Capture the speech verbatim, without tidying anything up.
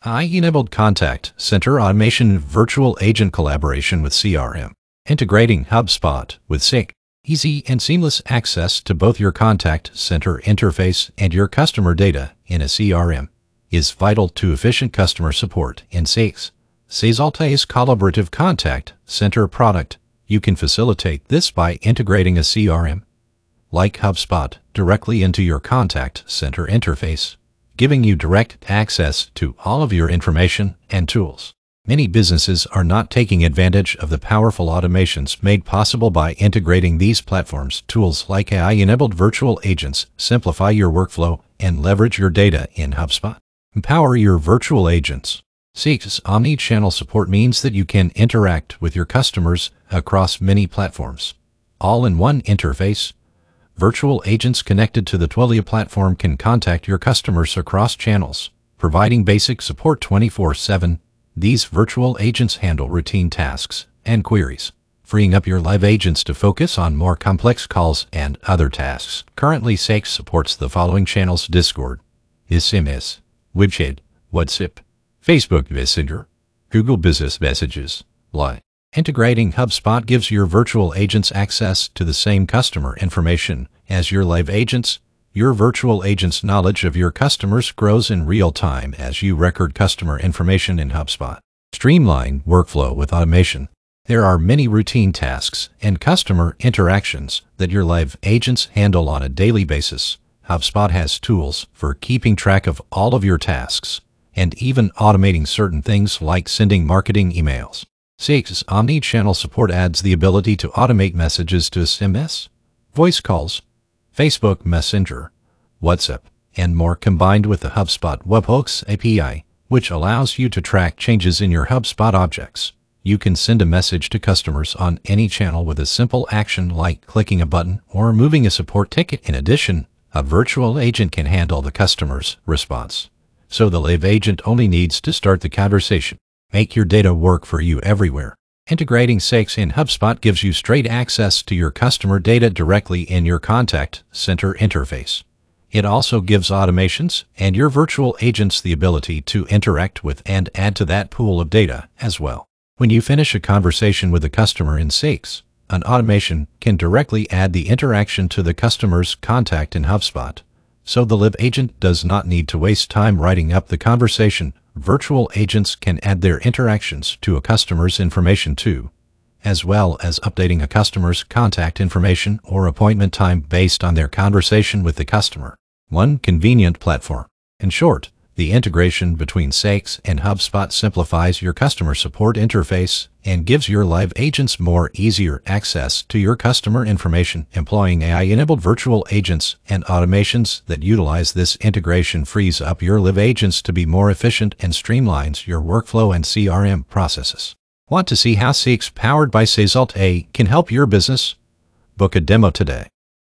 A I-enabled contact center automation virtual agent collaboration with C R M. Integrating HubSpot with Seek. Easy and seamless access to both your contact center interface and your customer data in a C R M is vital to efficient customer support in Seek's Sesalte's collaborative contact center product. You can facilitate this by integrating a C R M like HubSpot directly into your contact center interface, giving you direct access to all of your information and tools. Many businesses are not taking advantage of the powerful automations made possible by integrating these platforms. Tools like A I-enabled virtual agents simplify your workflow and leverage your data in HubSpot. Empower your virtual agents. Seek's omni-channel support means that you can interact with your customers across many platforms, all in one interface. Virtual agents connected to the Twilio platform can contact your customers across channels, providing basic support twenty-four seven. These virtual agents handle routine tasks and queries, freeing up your live agents to focus on more complex calls and other tasks. Currently, Seek supports the following channels: Discord, S M S, WebChat, WhatsApp, Facebook Messenger, Google Business Messages, Line. Integrating HubSpot gives your virtual agents access to the same customer information as your live agents. Your virtual agent's knowledge of your customers grows in real time as you record customer information in HubSpot. Streamline workflow with automation. There are many routine tasks and customer interactions that your live agents handle on a daily basis. HubSpot has tools for keeping track of all of your tasks and even automating certain things like sending marketing emails. Seek's omni-channel support adds the ability to automate messages to S M S, voice calls, Facebook Messenger, WhatsApp, and more, combined with the HubSpot Webhooks A P I, which allows you to track changes in your HubSpot objects. You can send a message to customers on any channel with a simple action like clicking a button or moving a support ticket. In addition, a virtual agent can handle the customer's response, so the live agent only needs to start the conversation. Make your data work for you everywhere. Integrating Seek's in HubSpot gives you straight access to your customer data directly in your contact center interface. It also gives automations and your virtual agents the ability to interact with and add to that pool of data as well. When you finish a conversation with a customer in Seek's, an automation can directly add the interaction to the customer's contact in HubSpot, so the live agent does not need to waste time writing up the conversation. Virtual agents can add their interactions to a customer's information too, as well as updating a customer's contact information or appointment time based on their conversation with the customer. One convenient platform. In short, the integration between Seek's and HubSpot simplifies your customer support interface and gives your live agents more easier access to your customer information. Employing A I-enabled virtual agents and automations that utilize this integration frees up your live agents to be more efficient and streamlines your workflow and C R M processes. Want to see how Seek's powered by Sesalte can help your business? Book a demo today.